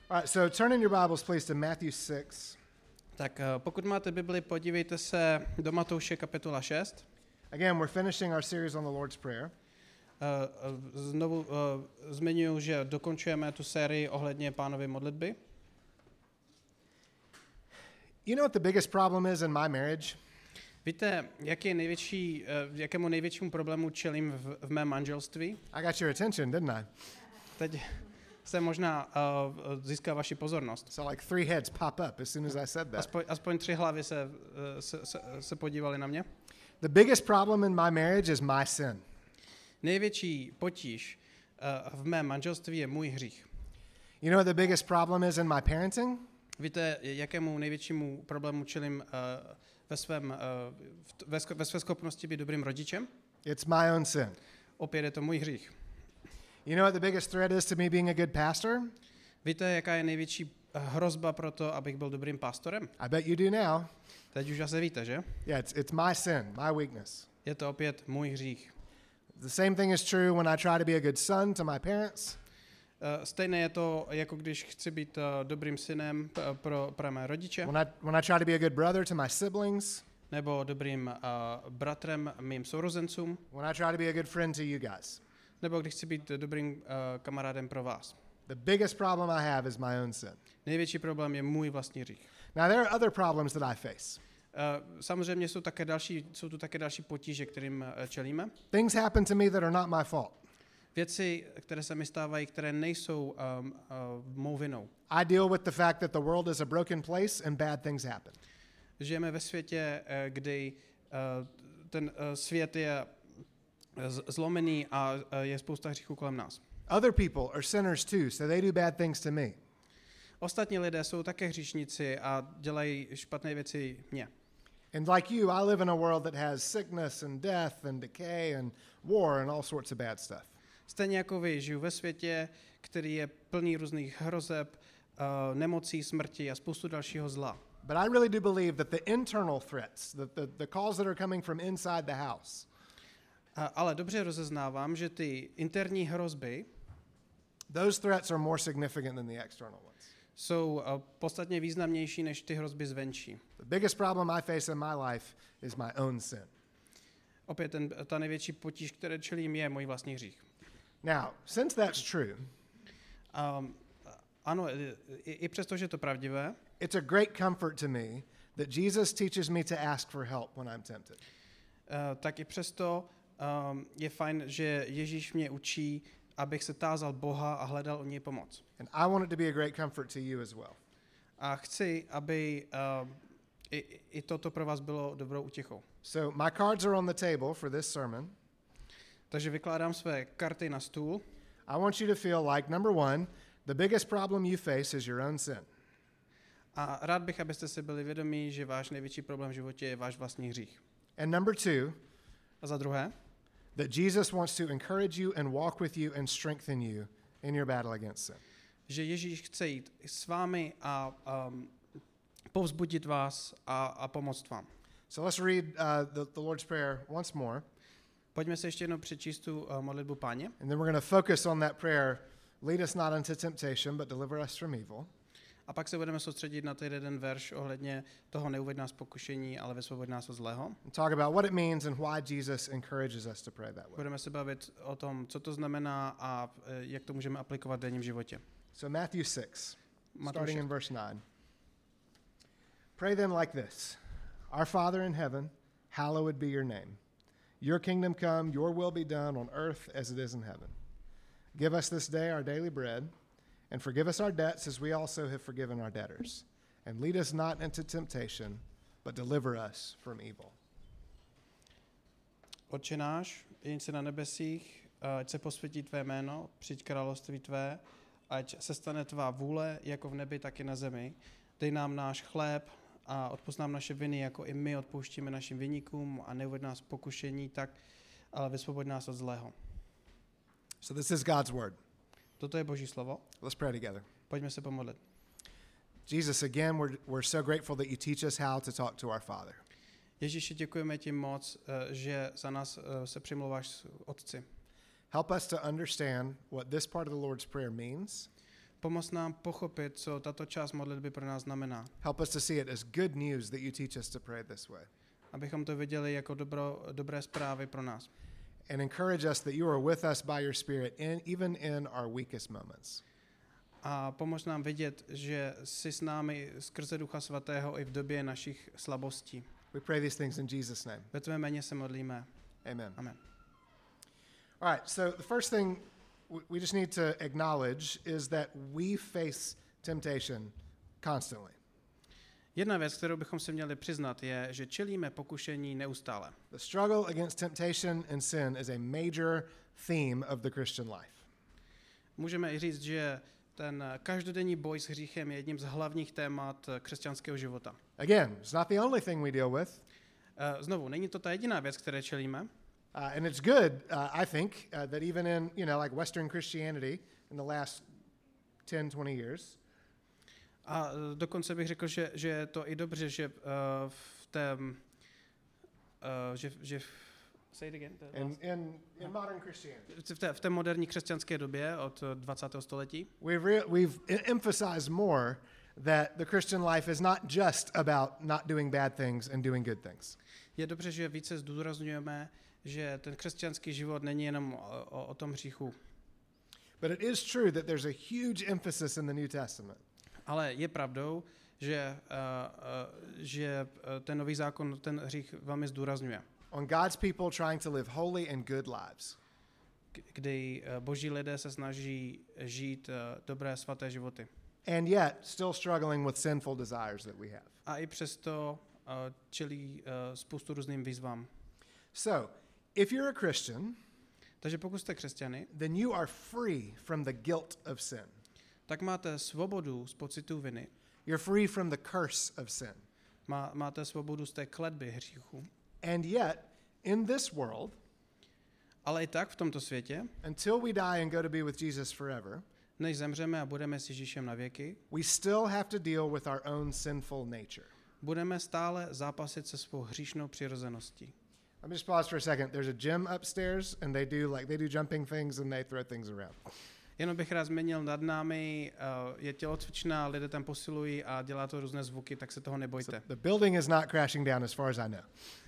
All right, so turn in your Bibles, please, to Matthew 6. Tak pokud máte Bibli, podívejte se do Matouše kapitola 6. Again, we're finishing our series on the Lord's Prayer. Znovu zmiňuji, že dokončujeme tu sérii ohledně Pánovy modlitby. You know what the biggest problem is in my marriage? Víte, jakému největšímu problému čelím v mém manželství? I got your attention, didn't I? Teď se možná získá vaši pozornost. So like 3 heads pop up as soon as I said that. Aspoň 3 hlavy se podívali na mě. The biggest problem in my marriage is my sin. Největší potíž v mém manželství je můj hřích. You know what the biggest problem is in my parenting? Víte, jakému největšímu problému čelím ve své schopnosti být dobrým rodičem? It's my own sin. Opět je to můj hřích. You know what the biggest threat is to me being a good pastor? Víte, jaká je největší hrozba pro to, abych byl dobrým pastorem? I bet you do now. Teď už asi víte, že? Yeah, it's my sin, my weakness. Je to opět můj hřích. The same thing is true when I try to be a good son to my parents. Stejné je to, jako když chci být dobrým synem pro mé rodiče. When I try to be a good brother to my siblings. Nebo dobrým bratrem mým sourozencům. When I try to be a good friend to you guys. Nebo když chci být dobrým kamarádem pro vás. The biggest problem I have is my own sin. Největší problém je můj vlastní hřích. Now there are other problems that I face. Samozřejmě jsou tu také další potíže, kterým čelíme. Things happen to me that are not my fault. Věci, které se mi stávají, které nejsou mou vinou. I deal with the fact that the world is a broken place and bad things happen. Žijeme ve světě, kdy ten svět je zlomený a je spousta hříchů kolem nás. Other people are sinners too, so they do bad things to me. Ostatní lidé jsou také hříšníci a dělají špatné věci mně. And like you, I live in a world that has sickness and death and decay and war and all sorts of bad stuff. Stejně jako vy, žiju ve světě, který je plný různých hrozeb, nemocí, smrti a spoustu dalšího zla. But I really do believe that the internal threats, the calls that are coming from inside the house, ale dobře rozeznávám, že ty interní hrozby those threats are more significant than the external ones. Jsou podstatně významnější než ty hrozby zvenčí. The biggest problem I face in my life is my own sin. Opět ta největší potíž, které čelím, je můj vlastní hřích. Now, since that's true, ano, i přesto, že je to pravdivé, it's a great comfort to me that Jesus teaches me to ask for help when I'm tempted. Tak i přesto je fajn, že Ježíš mě učí, abych se tázal Boha a hledal od něj pomoc. And I want it to be a great comfort to you as well. A chci, aby i toto pro vás bylo dobrou útěchou. So my cards are on the table for this sermon. Takže vykládám své karty na stůl. I want you to feel like, number one, the biggest problem you face is your own sin. A rád bych, abyste si byli vědomí, že váš největší problém v životě je váš vlastní hřích. And number two, A za druhé, that Jesus wants to encourage you and walk with you and strengthen you in your battle against sin. že Ježíš chce jít s vámi a povzbudit vás a pomoct vám. So let's read the Lord's Prayer once more. Pojďme se ještě jednou přečíst tu modlitbu Páně. And then we're going to focus on that prayer. Lead us not into temptation, but deliver us from evil. A pak se budeme soustředit na ten jeden verš ohledně toho neuveď nás pokušení, ale vysvoboď nás od zlého. And talk about what it means and why Jesus encourages us to pray that way. Budeme se bavit o tom, co to znamená a jak to můžeme aplikovat v denním životě. So Matthew 6, Matouš starting 6. in verse 9. Pray then like this. Our Father in heaven, hallowed be your name. Your kingdom come, your will be done on earth as it is in heaven. Give us this day our daily bread, and forgive us our debts as we also have forgiven our debtors. And lead us not into temptation, but deliver us from evil. Otče náš, jenž jsi na nebesích, ať se posvětí tvé jméno, přijď království tvé, ať se stane tvá vůle, jako v nebi, tak i na zemi. Dej nám náš chléb a odpusť nám naše viny, jako i my odpouštíme našim viníkům a neuveď nás v pokušení, tak, ale vysvoboď nás od zlého. So this is God's word. Toto je Boží slovo. Let's pray together. Pojďme se pomodlit. Jesus, again, we're so grateful that you teach us how to talk to our Father. Ježíši, děkujeme ti moc, že za nás se přimlouváš Otci. Help us to understand what this part of the Lord's Prayer means. Pomoz nám pochopit, co tato část modlitby pro nás znamená. Help us to see it as good news that you teach us to pray this way. Abychom to viděli jako dobré zprávy pro nás. And encourage us that you are with us by your Spirit, even in our weakest moments. A pomož nám vidět, že jsi s námi skrze Ducha Svatého i v době našich slabostí. We pray these things in Jesus' name. Ve tvé jméně se modlíme. Amen. Amen. All right, so the first thing we just need to acknowledge is that we face temptation constantly. Jedna věc, kterou bychom si měli přiznat, je, že čelíme pokušení neustále. The struggle against temptation and sin is a major theme of the Christian life. Můžeme i říct, že ten každodenní boj s hříchem je jedním z hlavních témat křesťanského života. Again, it's not the only thing we deal with. Znovu, není to ta jediná věc, které čelíme. And it's good, I think, that even in, like Western Christianity in the last 10-20 years, A dokonce bych řekl, že je to i dobře, že v té, say it again. in modern Christianity, V té moderní křesťanské době od 20. století we've emphasized more that the Christian life is not just about not doing bad things and doing good things. je dobře, že více zdůrazňujeme, že ten křesťanský život není jenom o tom hříchu. But it is true that there's a huge emphasis in the New Testament Ale je pravdou, že ten nový zákon ten hřích velmi zdůrazňuje. on God's people trying to live holy and good lives. Kdy boží lidé se snaží žít dobré svaté životy. And yet still struggling with sinful desires that we have. A i přesto čelí spoustu různým výzvám. So, if you're a Christian, Takže pokud jste křesťany, then you are free from the guilt of sin. tak máte svobodu z pocitu viny. You're free from the curse of sin. Máte svobodu z té kletby hříchu. And yet, in this world, Ale i tak v tomto světě, until we die and go to be with Jesus forever, než zemřeme a budeme s Ježíšem na věky, we still have to deal with our own sinful nature. budeme stále zápasit se svou hříšnou přirozeností. Let me just pause for a second. There's a gym upstairs, and they do jumping things and they throw things around. Jenom bych rád změnil nad námi, je tělocvičná, lidé tam posilují a dělá to různé zvuky, tak se toho nebojte. So the building is not crashing down as far as I know.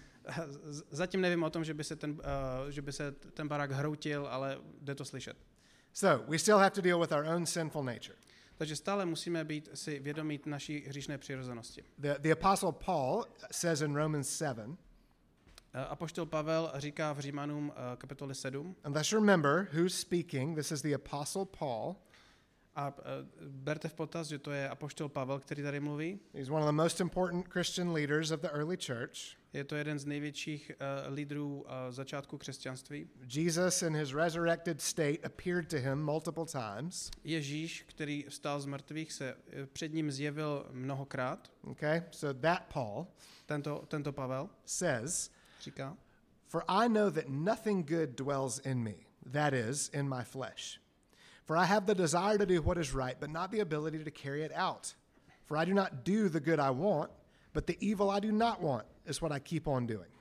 Zatím nevím o tom, že by se ten barák hroutil, ale jde to slyšet. So we still have to deal with our own sinful nature. Takže stále musíme být si vědomí naší hříšné přirozenosti. The Apostle Paul says in Romans 7, Apoštol Pavel říká v Římanům kapitole 7, and let's remember who's speaking. This is the Apostle Paul. a berte v potaz, že to je apoštol Pavel, který tady mluví. He's one of the most important Christian leaders of the early church. Je to jeden z největších lídrů začátku křesťanství. Jesus in his resurrected state appeared to him multiple times. Ježíš, který vstal z mrtvých, se před ním zjevil mnohokrát. Okay? So that Paul Tento Pavel says, říká, "For I know that nothing good dwells in me, that is, in my flesh. For I have the desire to do what is right, but not the ability to carry it out. For I do not do the good I want, but the evil I do not want is what I keep on doing."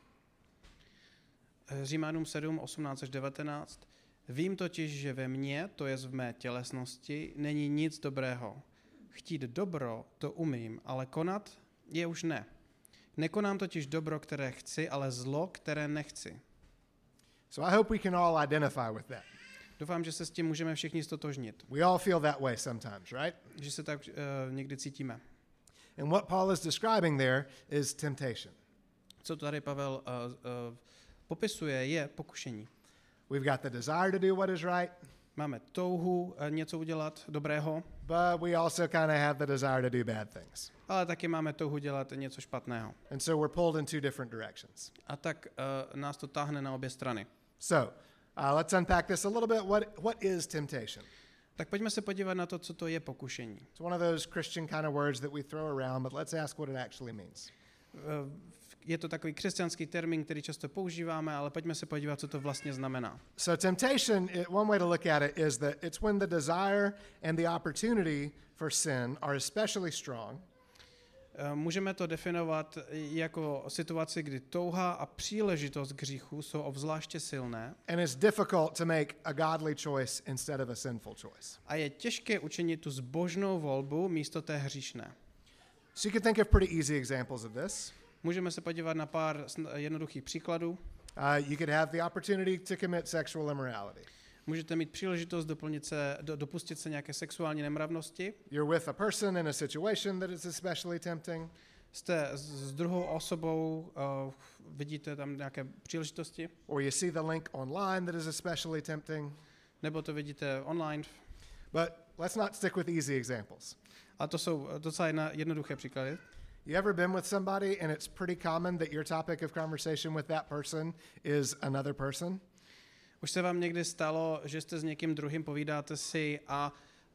Římanům 7, 18 až 19. Vím totiž, že ve mně, to je v mé tělesnosti, není nic dobrého. Chtít dobro, to umím, ale konat je už ne. Nekonám totiž dobro, které chci, ale zlo, které nechci. So I hope we can all identify with that. Doufám, že se s tím můžeme všichni stotožnit. We all feel that way sometimes, right? Že se tak někdy cítíme. And what Paul is describing there is temptation. Co tady Pavel popisuje, je pokušení. We've got the desire to do what is right, Máme touhu něco udělat dobrého, but we also kind of have the desire to do bad things. ale taky máme touhu dělat něco špatného. And so we're pulled in two different directions. A tak nás to táhne na obě strany. So let's unpack this a little bit. What is temptation? Tak pojďme se podívat na to, co to je pokušení. It's one of those Christian kind of words that we throw around, but let's ask what it actually means. Je to takový křesťanský termín, který často používáme, ale pojďme se podívat, co to vlastně znamená. So temptation, one way to look at it is that it's when the desire and the opportunity for sin are especially strong. Můžeme to definovat jako situaci, kdy touha a příležitost k hříchu jsou obzvláště silné and it's difficult to make a godly choice instead of a sinful choice. a je těžké učinit tu zbožnou volbu místo té hříšné. So you can think of pretty easy examples of this. Můžeme se podívat na pár jednoduchých příkladů. You could have the opportunity to commit sexual immorality. Můžete mít příležitost dopustit se nějaké sexuální nemravnosti. You're with a person in a situation that is especially tempting. Jste s druhou osobou, vidíte tam nějaké příležitosti, Or you see the link online that is especially tempting. nebo to vidíte online. But let's not stick with easy examples. A to jsou docela jednoduché příklady. You ever been with somebody and it's pretty common that your topic of conversation with that person is another person? Už se vám někdy stalo, že jste s někým druhým, povídáte si a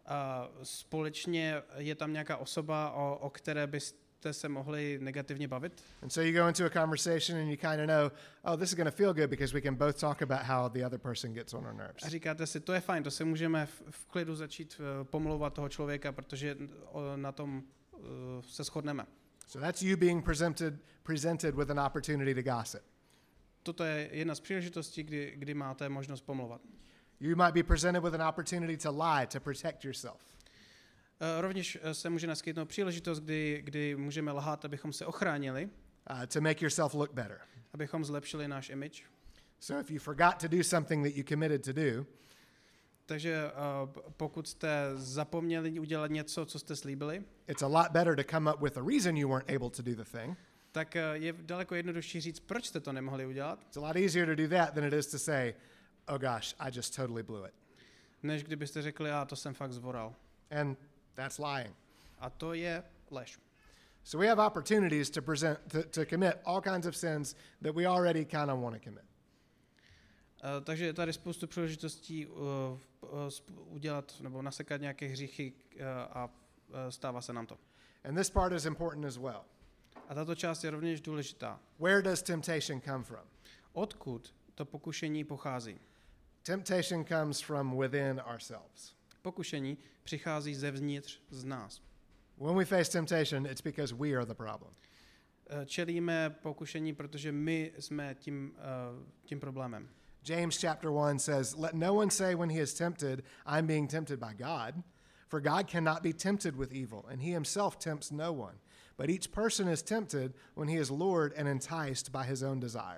společně je tam nějaká osoba, o které byste se mohli negativně bavit? And so you go into a conversation and you kind of know, oh, this is going to feel good because we can both talk about how the other person gets on our nerves. A říkáte si, to je fajn, to se můžeme v klidu začít pomlouvat toho člověka, protože na tom se shodneme. So that's you being presented with an opportunity to gossip. Toto je jedna z příležitostí, kdy máte možnost pomlouvat. You might be presented with an opportunity to lie, to protect yourself. Rovněž se může naskytnout příležitost, kdy můžeme lhát, abychom se ochránili, To make yourself look better. abychom zlepšili náš image. So if you forgot to do something that you committed to do, Takže pokud jste zapomněli udělat něco, co jste slíbili, it's a lot better to come up with a reason you weren't able to do the thing. tak je daleko jednodušší říct, proč jste to nemohli udělat, It's a lot easier to do that than it is to say, oh gosh, I just totally blew it. než kdybyste řekli, to jsem fakt zvoral. And that's lying. A to je lež. So we have opportunities to commit all kinds of sins that we already kind of want to commit. Takže je tady spoustu příležitostí udělat nebo nasekat nějaké hříchy a stává se nám to. And this part is important as well. A tato část je rovněž důležitá. Where does temptation come from? Odkud to pokušení pochází? Temptation comes from within ourselves. Pokušení přichází zevnitř z nás. When we face temptation, it's because we are the problem. Čelíme pokušení, protože my jsme tím problémem. James chapter 1 says, let no one say when he is tempted, I'm being tempted by God. For God cannot be tempted with evil, and he himself tempts no one. But each person is tempted when he is lured and enticed by his own desire.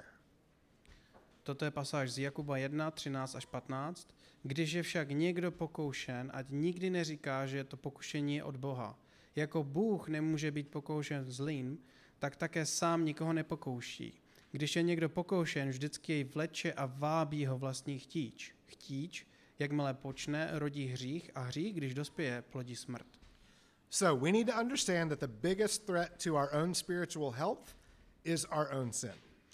Toto je pasáž z Jakuba 1, 13 až 15. Když je však někdo pokoušen, ať nikdy neříká, že to pokušení je od Boha. Jako Bůh nemůže být pokoušen zlým, tak také sám nikoho nepokouší. Když je někdo pokoušen, vždycky jej vleče a vábí ho vlastní chtíč. Chtíč, jakmile počne, rodí hřích a hřích, když dospěje, plodí smrt. So we need to understand that the biggest threat to our own spiritual health is our own sin.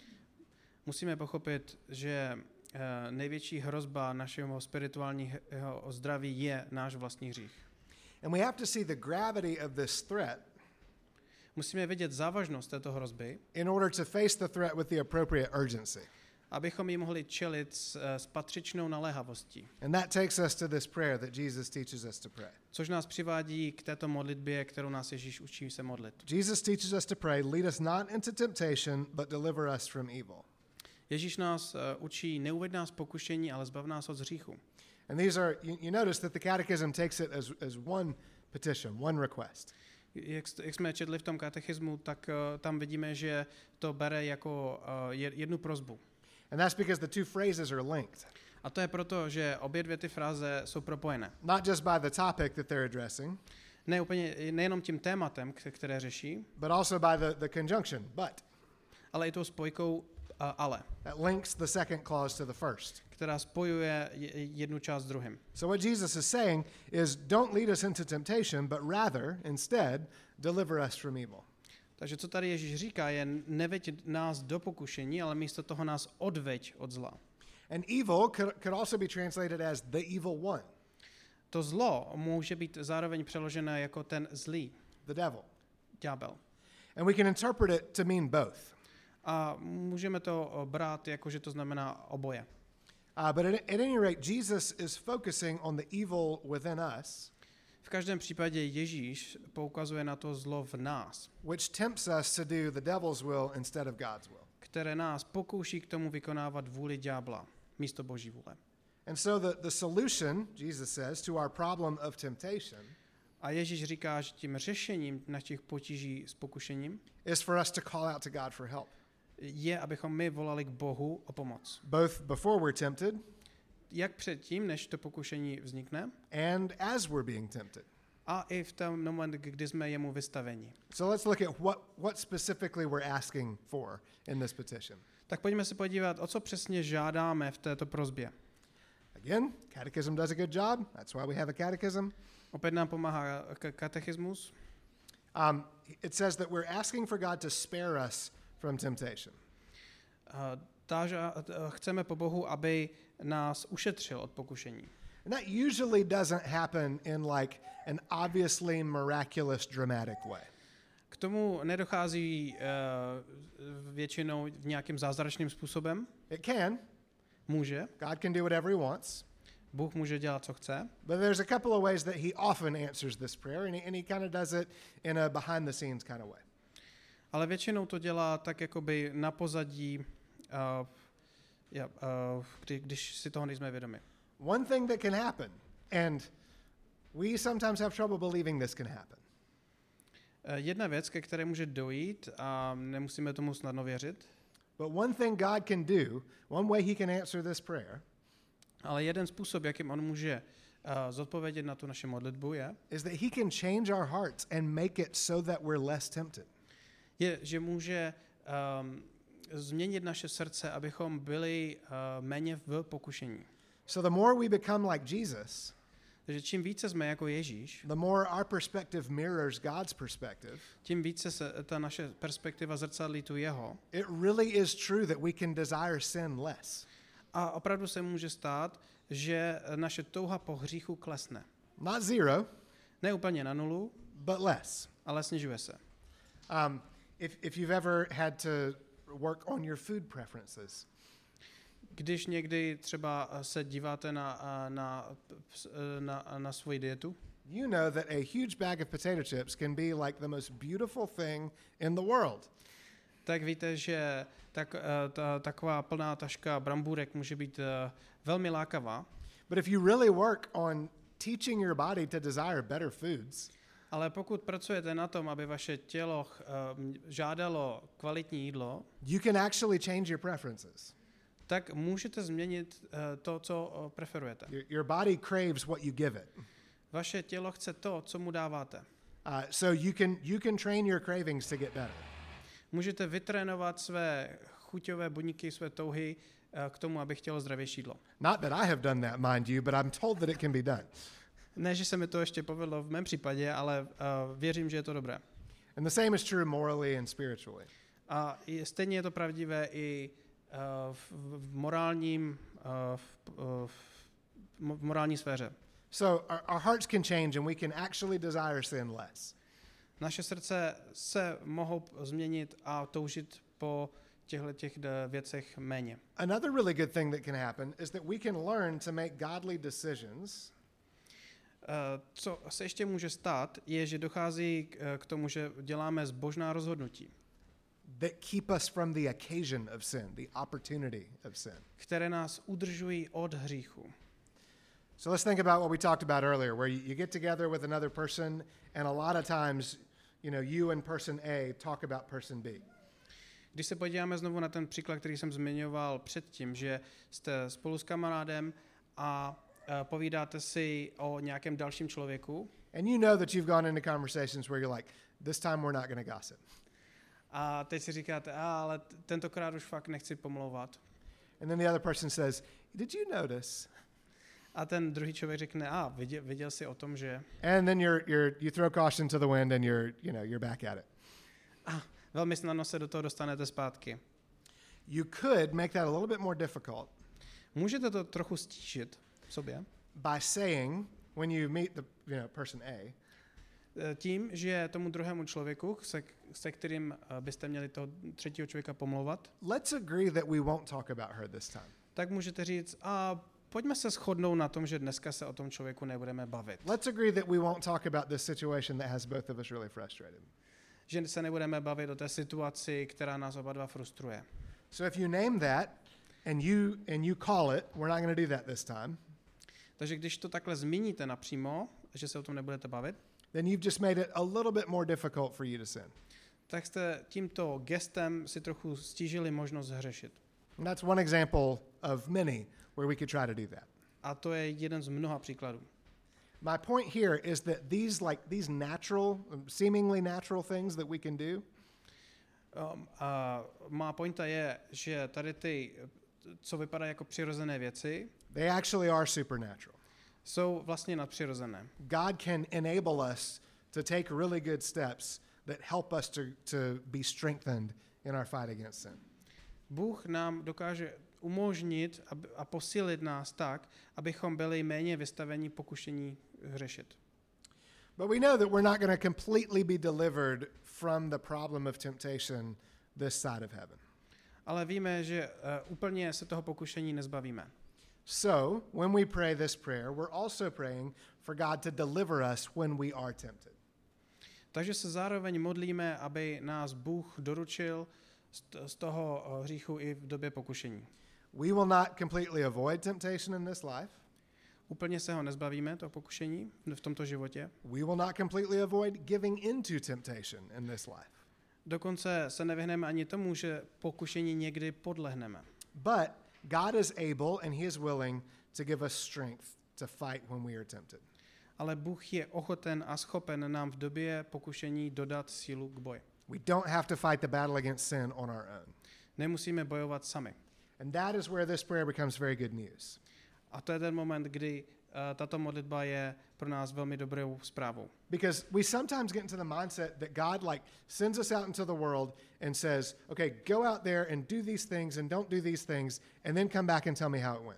Musíme pochopit, že největší hrozba našeho spirituálního zdraví je náš vlastní hřích. And we have to see the gravity of this threat Musíme vidět závažnost této hrozby, in order to face the threat with the appropriate urgency. abychom ji mohli čelit s patřičnou naléhavostí. And that takes us to this prayer that Jesus teaches us to pray. Což nás přivádí k této modlitbě, kterou nás Ježíš učí se modlit. Jesus teaches us to pray, lead us not into temptation, but deliver us from evil. Ježíš nás učí, neuveď nás pokušení, ale zbav nás od hříchu. And these are, you notice that the catechism takes it as one petition, one request. Jak jsme četli v tom katechismu, tak tam vidíme, že to bere jako jednu prosbu. And that's because the two phrases are linked. A to je proto, že obě dvě ty fráze jsou propojené. Not just by the topic that they're addressing, Nejenom tím tématem, které řeší, but also by the conjunction, but. ale i tou spojkou ale, That links the second clause to the first. která spojuje jednu část s druhým. So what Jesus is saying is, don't lead us into temptation, but rather, instead, deliver us from evil. Takže co tady Ježíš říká, je neveď nás do pokušení, ale místo toho nás odveď od zla. And evil could also be translated as the evil one, To zlo může být zároveň přeložené jako ten zlý, the devil. ďábel. And we can interpret it to mean both. A můžeme to brát jako, že to znamená oboje. But at any rate, Jesus is focusing on the evil within us. V každém případě Ježíš poukazuje na to zlo v nás, which tempts us to do the devil's will instead of God's will. které nás pokouší k tomu vykonávat vůli ďábla místo Boží vůle. And so the solution, Jesus says, to our problem of temptation A Ježíš říká, že tím řešením našich potíží s pokušením is for us to call out to God for help. je, abychom my volali k Bohu o pomoc. Both before we're tempted Jak předtím, než to pokušení vznikne, and as we're being tempted. a i v tom moment, kdy jsme jemu vystaveni. So let's look at what specifically we're asking for in this petition. Tak pojďme se podívat, o co přesně žádáme v této prosbě. Again, catechism does a good job. That's why we have a catechism. Opět nám pomáhá katechismus. It says that we're asking for God to spare us from temptation. Chceme po Bohu, aby nás ušetřil od pokušení. And that usually doesn't happen in like an obviously miraculous, dramatic way. K tomu nedochází většinou v nějakým zázračným způsobem. It can. Může. God can do whatever he wants. Bůh může dělat, co chce. But there's a couple of ways that he often answers this prayer, and he kind of does it in a behind-the-scenes kind of way. Ale většinou to dělá tak jakoby na pozadí, když si toho nejsme vědomi. One thing that can happen, and we sometimes have trouble believing this can happen, Jedna věc, ke které může dojít a nemusíme tomu snadno věřit, but one thing God can do, one way he can answer this prayer, ale jeden způsob, jakým on může zodpovědět na tu naši modlitbu is that he can change our hearts and make it so that we're less tempted. je, že může změnit naše srdce, abychom byli méně v pokušení. So the more we become like Jesus, Takže čím více jsme jako Ježíš, the more our perspective mirrors God's perspective. tím více se ta naše perspektiva zrcadlí tu jeho. It really is true that we can desire sin less. A opravdu se může stát, že naše touha po hříchu klesne. Not zero, Ne úplně na nulu, but less. ale snižuje se. If you've ever had to work on your food preferences, Když někdy třeba se díváte na svoji dietu, you know that a huge bag of potato chips can be like the most beautiful thing in the world. tak víte, že taková plná taška brambůrek může být velmi lákavá, But if you really work on teaching your body to desire better foods, ale pokud pracujete na tom, aby vaše tělo žádalo kvalitní jídlo, you can actually change your preferences. tak můžete změnit to, co preferujete. Your body craves what you give it. Vaše tělo chce to, co mu dáváte. So you can train your cravings to get better. Můžete vytrénovat své chuťové buňky, své touhy k tomu, aby chtělo zdravější jídlo. Not that I have done that, mind you, but I'm told that it can be done. Ne, že se mi to ještě povedlo v mém případě, ale věřím, že je to dobré. And the same is true morally and spiritually. A stejně je to pravdivé i v morální sféře. So our hearts can change and we can actually desire sin less. Naše srdce se mohou změnit a toužit po těchto věcech méně. Another really good thing that can happen is that we can learn to make godly decisions Co se ještě může stát, je, že dochází k tomu, že děláme zbožná rozhodnutí, that keep us from the occasion of sin, the opportunity of sin. které nás udržují od hříchu. So let's think about what we talked about earlier, where you get together with another person, and a lot of times, you and person A talk about person B. Když se podíváme znovu na ten příklad, který jsem zmiňoval předtím, že jste spolu s kamarádem a povídáte si o nějakém dalším člověku, And you know that you've gone into conversations where you're like, this time we're not going to gossip. a teď si říkáte, ale tentokrát už fakt nechci pomlouvat. And then the other person says, did you notice? A ten druhý člověk řekne, viděl jsi o tom, že... And then you throw caution to the wind and you're back at it. Velmi snadno se do toho dostanete zpátky. You could make that a little bit more difficult Můžete to trochu stížit v sobě by saying, when you meet the person A, tím, že tomu druhému člověku, se kterým byste měli toho třetího člověka pomlouvat, let's agree that we won't talk about her this time. tak můžete říct, pojďme se shodnout na tom, že dneska se o tom člověku nebudeme bavit. Let's agree that we won't talk about this situation that has both of us really frustrated. Že se nebudeme bavit o té situaci, která nás oba dva frustruje. So if you name that and you call it, we're not going to do that this time. Takže když to takhle zmíníte napřímo, že se o tom nebudete bavit, then you've just made it a little bit more difficult for you to sin. tak jste tímto gestem si trochu stížili možnost hřešit. And that's one example of many where we could try to do that. A to je jeden z mnoha příkladů. My point here is that these natural, seemingly natural things that we can do, A má pointa je, že tady ty, co vypadá jako přirozené věci, they actually are supernatural. jsou vlastně nadpřirozené. God can enable us to take really good steps that help us to be strengthened in our fight against sin. Bůh nám dokáže umožnit a posílit nás tak, abychom byli méně vystaveni pokušení hřešit. But we know that we're not going to completely be delivered from the problem of temptation this side of heaven. Ale víme, že úplně se toho pokušení nezbavíme. So, when we pray this prayer, we're also praying for God to deliver us when we are tempted. Takže se zároveň modlíme, aby nás Bůh doručil z toho hříchu i v době pokušení. We will not completely avoid temptation in this life. Úplně se ho nezbavíme, toho pokušení, v tomto životě. We will not completely avoid giving into temptation in this life. Dokonce se nevyhneme ani tomu, že pokušení někdy podlehneme. But God is able and He is willing to give us strength to fight when we are tempted. Ale Bůh je ochoten a schopen nám v době pokušení dodat sílu k boji. We don't have to fight the battle against sin on our own. Nemusíme bojovat sami. And that is where this prayer becomes very good news. A to je ten moment, kdy tato modlitba je pro nás velmi dobrou zprávou. Because we sometimes get into the mindset that God sends us out into the world and says, okay, go out there and do these things and don't do these things and then come back and tell me how it went.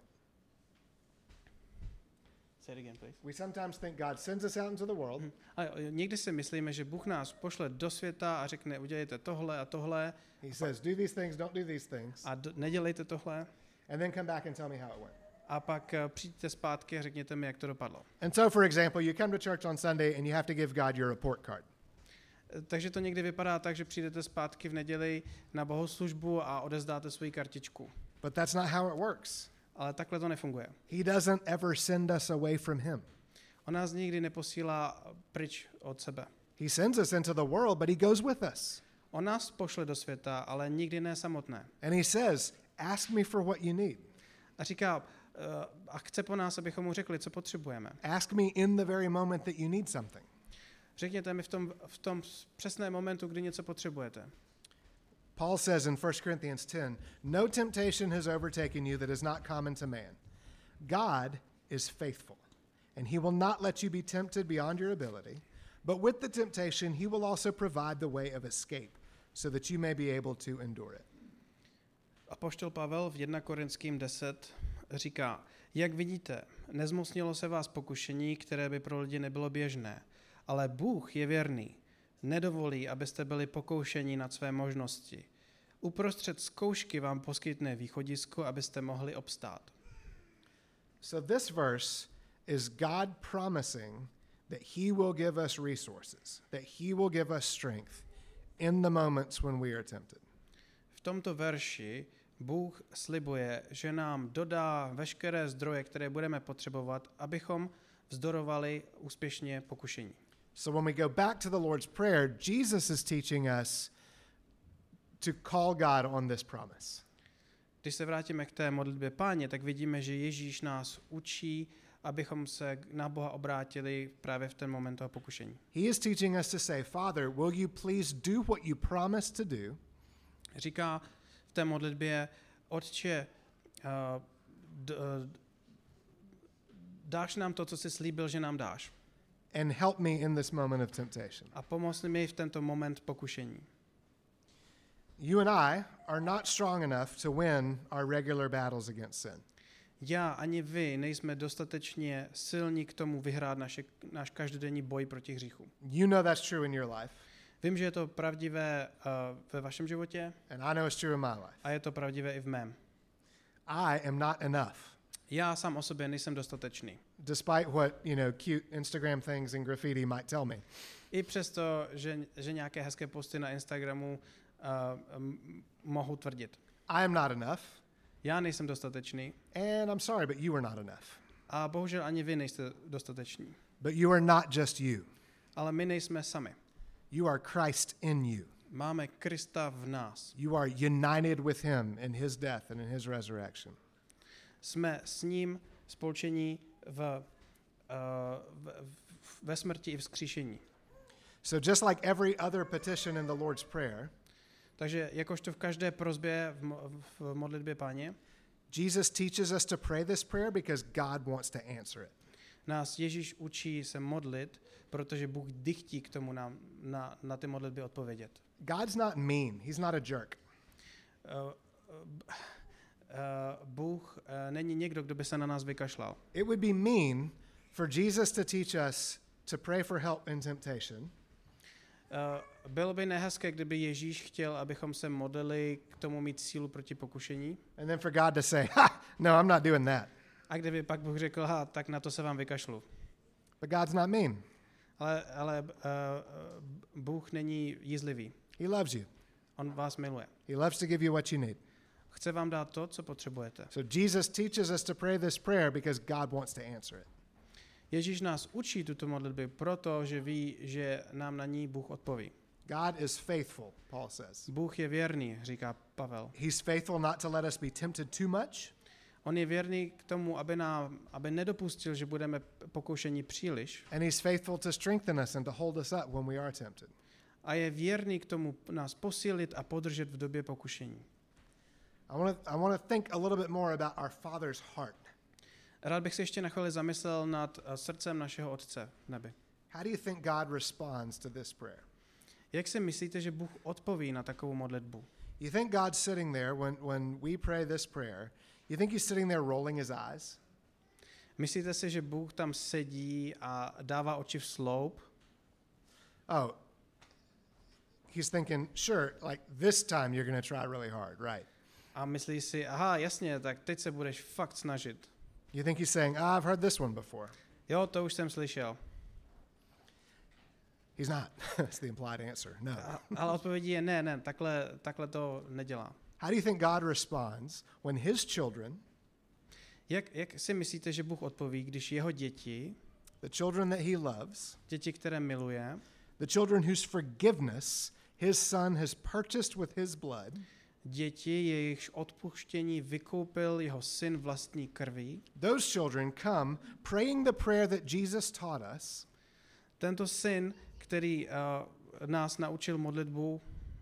Say it again, please. We sometimes think God sends us out into the world. A někdy si myslíme, že Bůh nás pošle do světa a řekne, udělejte tohle a tohle. He says, do these things, don't do these things. A nedělejte tohle. And then come back and tell me how it went. A pak přijďte zpátky a řekněte mi, jak to dopadlo. And so, for example, you come to church on Sunday and you have to give God your report card. Takže to někdy vypadá tak, že přijdete zpátky v neděli na bohoslužbu a odevzdáte svoji kartičku. But that's not how it works. Ale takhle to nefunguje. He doesn't ever send us away from Him. On nás nikdy neposílá pryč od sebe. He sends us into the world, but He goes with us. On nás pošle do světa, ale nikdy ne samotné. And He says, ask me for what you need. A říká, a chce po nás, abychom mu řekli, co potřebujeme. Ask me in the very moment that you need something. Řekněte mi v tom přesném momentu, kdy něco potřebujete. Paul says in 1 Corinthians 10, no temptation has overtaken you that is not common to man. God is faithful, and He will not let you be tempted beyond your ability, but with the temptation He will also provide the way of escape, so that you may be able to endure it. Apoštol Pavel v 1 Korinským 10 říká, jak vidíte, nezmocnilo se vás pokušení, které by pro lidi nebylo běžné, ale Bůh je věrný. Nedovolí, abyste byli pokoušeni nad své možnosti. Uprostřed zkoušky vám poskytne východisko, abyste mohli obstát. So this verse is God promising that He will give us resources, that He will give us strength in the moments when we are tempted. V tomto verši Bůh slibuje, že nám dodá veškeré zdroje, které budeme potřebovat, abychom vzdorovali úspěšně pokušení. So when we go back to the Lord's Prayer, Jesus is teaching us to call God on this promise. Když se vrátíme k té modlitbě Páně, tak vidíme, že Ježíš nás učí, abychom se na Boha obrátili právě v ten moment toho pokušení. He is teaching us to say, Father, will you please do what you promised to do? Říká v té modlitbě, Otče, dáš nám to, co jsi slíbil, že nám dáš. And help me in this moment of temptation. A pomoz mi v tento moment pokušení. You and I are not strong enough to win our regular battles against sin. Já ani vy nejsme dostatečně silní k tomu vyhrát náš každodenní boj proti hříchu. You know that's true in your life. Vím, že je to pravdivé ve vašem životě And I know it's true in my life. a je to pravdivé i v mém. I am not enough. Já sám o sobě nejsem dostatečný. despite what, cute Instagram things and graffiti might tell me. I přesto, že nějaké hezké posty na Instagramu mohu tvrdit. I am not enough, Já nejsem dostatečný and I'm sorry, but you are not enough. a bohužel ani vy nejste dostateční. But you are not just you. Ale my nejsme sami. You are Christ in you. Máme Krista v nás. You are united with him in his death and in his resurrection. Jsme s ním spolčení ve smrti i vzkříšení. So just like every other petition in the Lord's Prayer, Takže jakožto v každé prosbě v modlitbě Páně, Jesus teaches us to pray this prayer because God wants to answer it. nás Ježíš učí se modlit, protože Bůh dychtí k tomu nám na ty modlitby odpovědět. God's not mean. He's not a jerk. Bůh není někdo, kdo by se na nás vykašlal. It would be mean for Jesus to teach us to pray for help in temptation. Bylo by nehezké, kdyby Ježíš chtěl, abychom se modlili k tomu mít sílu proti pokušení. And then for God to say, ha, no, I'm not doing that. A kdyby pak Bůh řekl, tak na to se vám vykašlu. But God's not mean. Ale Bůh není jízlivý. He loves you. On vás miluje. He loves to give you what you need. Chce vám dát to, co potřebujete. So Jesus teaches us to pray this prayer because God wants to answer it. Ježíš nás učí tuto modlitbu, protože ví, že nám na ní Bůh odpoví. God is faithful, Paul says. Bůh je věrný, říká Pavel. He's faithful not to let us be tempted too much, On je věrný k tomu, aby nedopustil, že budeme pokoušeni příliš. and he's faithful to strengthen us and to hold us up when we are tempted. A je věrný k tomu nás posílit a podržet v době pokušení. I want to think a little bit more about our Father's heart. Rád bych se ještě na chvíli zamyslel nad srdcem našeho Otce v nebi. How do you think God responds to this prayer? Jak si myslíte, že Bůh odpoví na takovou modlitbu? You think God's sitting there when we pray this prayer, you think he's sitting there rolling his eyes? Myslíte si, že Bůh tam sedí a dává oči v sloup? Oh, he's thinking, sure, like this time you're going to try really hard, right? A myslí si, aha, jasně, tak teď se budeš fakt snažit. You think he's saying, I've heard this one before. Jo, to už jsem slyšel. He's not. That's the implied answer. No. Ale odpovědí je ne, takhle to nedělá. How do you think God responds when his children, Jak si myslíte, že Bůh odpoví, když jeho děti, the children that he loves, děti, které miluje, the children whose forgiveness his son has purchased with his blood, děti, jejichž odpuštění vykoupil jeho syn vlastní krví, those children come praying the prayer that Jesus taught us, tento syn, který nás naučil modlitbu,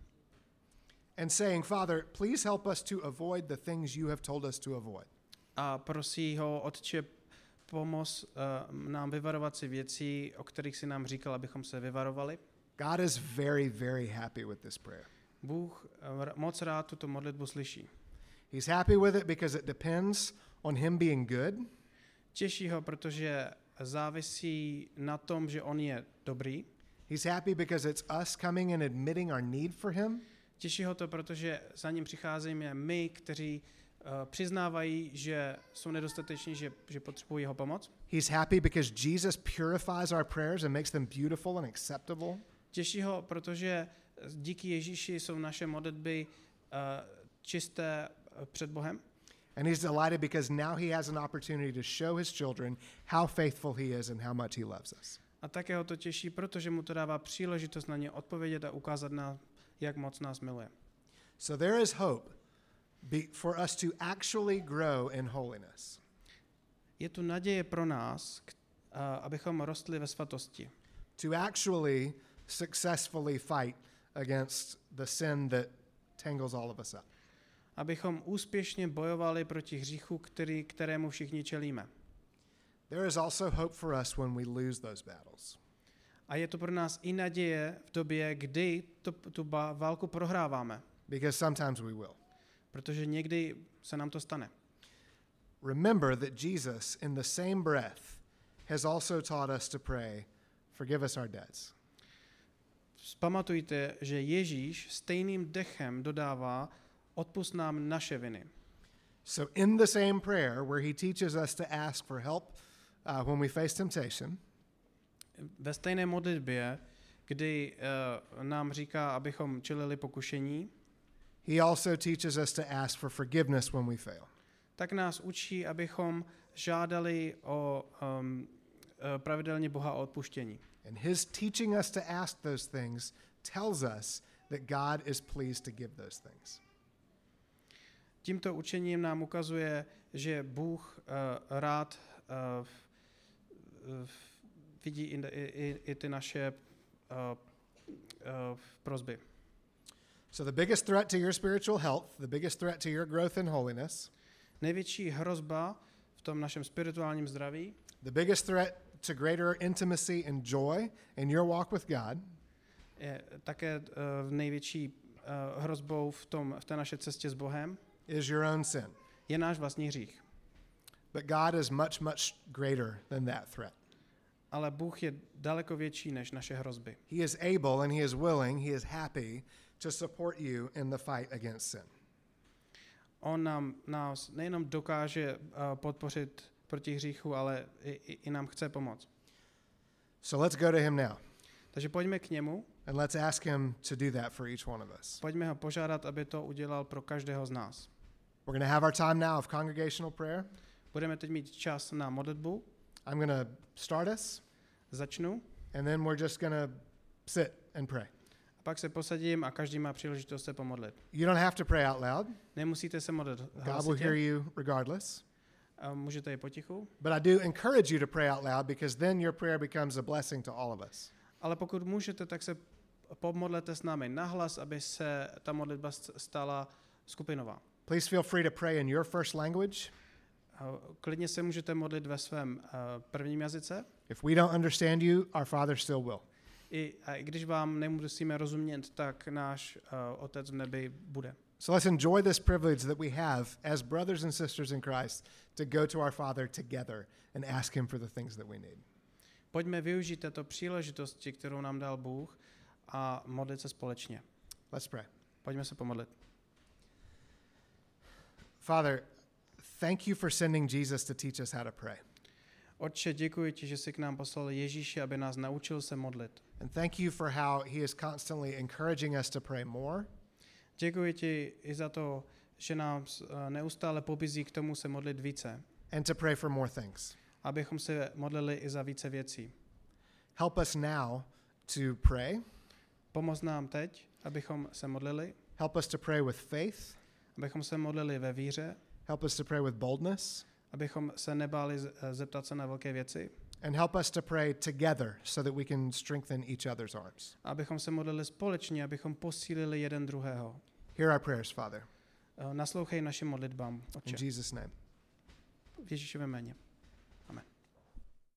and saying, Father, please help us to avoid the things you have told us to avoid. a prosí ho, Otče, pomoz nám vyvarovat si věcí, o kterých si nám říkal, abychom se vyvarovali. God is very, very happy with this prayer. Bůh moc rád tuto modlitbu slyší. He's happy with it because it depends on him being good. Těší ho, protože závisí na tom, že on je dobrý. He's happy because it's us coming and admitting our need for him. Těší ho to, protože za ním přicházíme my, kteří přiznávají, že jsou nedostateční, že potřebují jeho pomoc. He's happy because Jesus purifies our prayers and makes them beautiful and acceptable. Těší ho, protože díky Ježíši jsou naše modlitby čisté před Bohem. And he's delighted because now he has an opportunity to show his children how faithful he is and how much he loves us. A také ho to těší, protože mu to dává příležitost na ně odpovědět a ukázat nám, jak moc nás miluje. So there is hope for us to actually grow in holiness. Je tu naděje pro nás, abychom rostli ve svatosti. To actually successfully fight against the sin that tangles all of us up. Abychom úspěšně bojovali proti hříchu, kterému všichni čelíme. There is also hope for us when we lose those battles. A je to pro nás i naděje v době, kdy tu válku prohráváme. Because sometimes we will. Protože někdy se nám to stane. Remember that Jesus, in the same breath, has also taught us to pray, forgive us our debts. Pamatujte, že Ježíš stejným dechem dodává, odpusť nám naše viny. So in the same prayer where he teaches us to ask for help when we face temptation, Ve stejné modlitbě, kdy nám říká, abychom čelili pokušení, he also teaches us to ask for forgiveness when we fail. tak nás učí, abychom žádali pravidelně Boha o odpuštění. And his teaching us to ask those things tells us that God is pleased to give those things. Tímto učením nám ukazuje, že Bůh rád vidí i ty naše prosby. So the biggest threat to your spiritual health, the biggest threat to your growth in holiness, Největší hrozba v tom našem spirituálním zdraví, the biggest threat to greater intimacy and joy in your walk with God je také největší hrozbou v té naší cestě s Bohem, is your own sin. je náš vlastní hřích. But God is much, much greater than that threat. Ale Bůh je daleko větší než naše hrozby. He is able and he is willing, he is happy to support you in the fight against sin. On nás nejenom dokáže podpořit proti hříchu, ale i nám chce pomoct. So let's go to him now Takže pojďme k němu, and let's ask him to do that for each one of us. pojďme ho požádat, aby to udělal pro každého z nás. We're going to have our time now of congregational prayer. Budeme teď mít čas na modlitbu. I'm going to start us, Začnu and then we're just going to sit and pray. a pak se posadím a každý má příležitost se pomodlit. You don't have to pray out loud. Nemusíte se modlit God will hlasitě, hear you regardless. můžete i potichu, But I do encourage you to pray out loud because then your prayer becomes a blessing to all of us. ale pokud můžete, tak se pomodlete s námi nahlas, aby se ta modlitba stala skupinová. Please feel free to pray in your first language. Klidně se můžete modlit ve svém prvním jazyce, If we don't understand you, our Father still will. i když vám nemusíme rozumět, tak náš Otec v nebi bude. So let's enjoy this privilege that we have as brothers and sisters in Christ to go to our Father together and ask him for the things that we need. Pojďme využít této příležitosti, kterou nám dal Bůh, a modlit se společně. Let's pray. Pojďme se pomodlit. Father, thank you for sending Jesus to teach us how to pray. Otče, děkuji ti, že jsi k nám poslal Ježíše, aby nás naučil se modlit. And thank you for how he is constantly encouraging us to pray more. Děkuji ti i za to, že nás neustále pobízí k tomu se modlit více, and to pray for more things. abychom se modlili i za více věcí. Help us now to pray. Pomoz nám teď, abychom se modlili, Help us to pray with faith. abychom se modlili ve víře, Help us to pray with boldness. abychom se nebáli zeptat se na velké věci, And help us to pray together so that we can strengthen each other's arms. abychom se modlili společně, abychom posílili jeden druhého. Hear our prayers, Father. Naslouchej našim modlitbám, In Otče, Jesus' name. v Ježíšově jméně.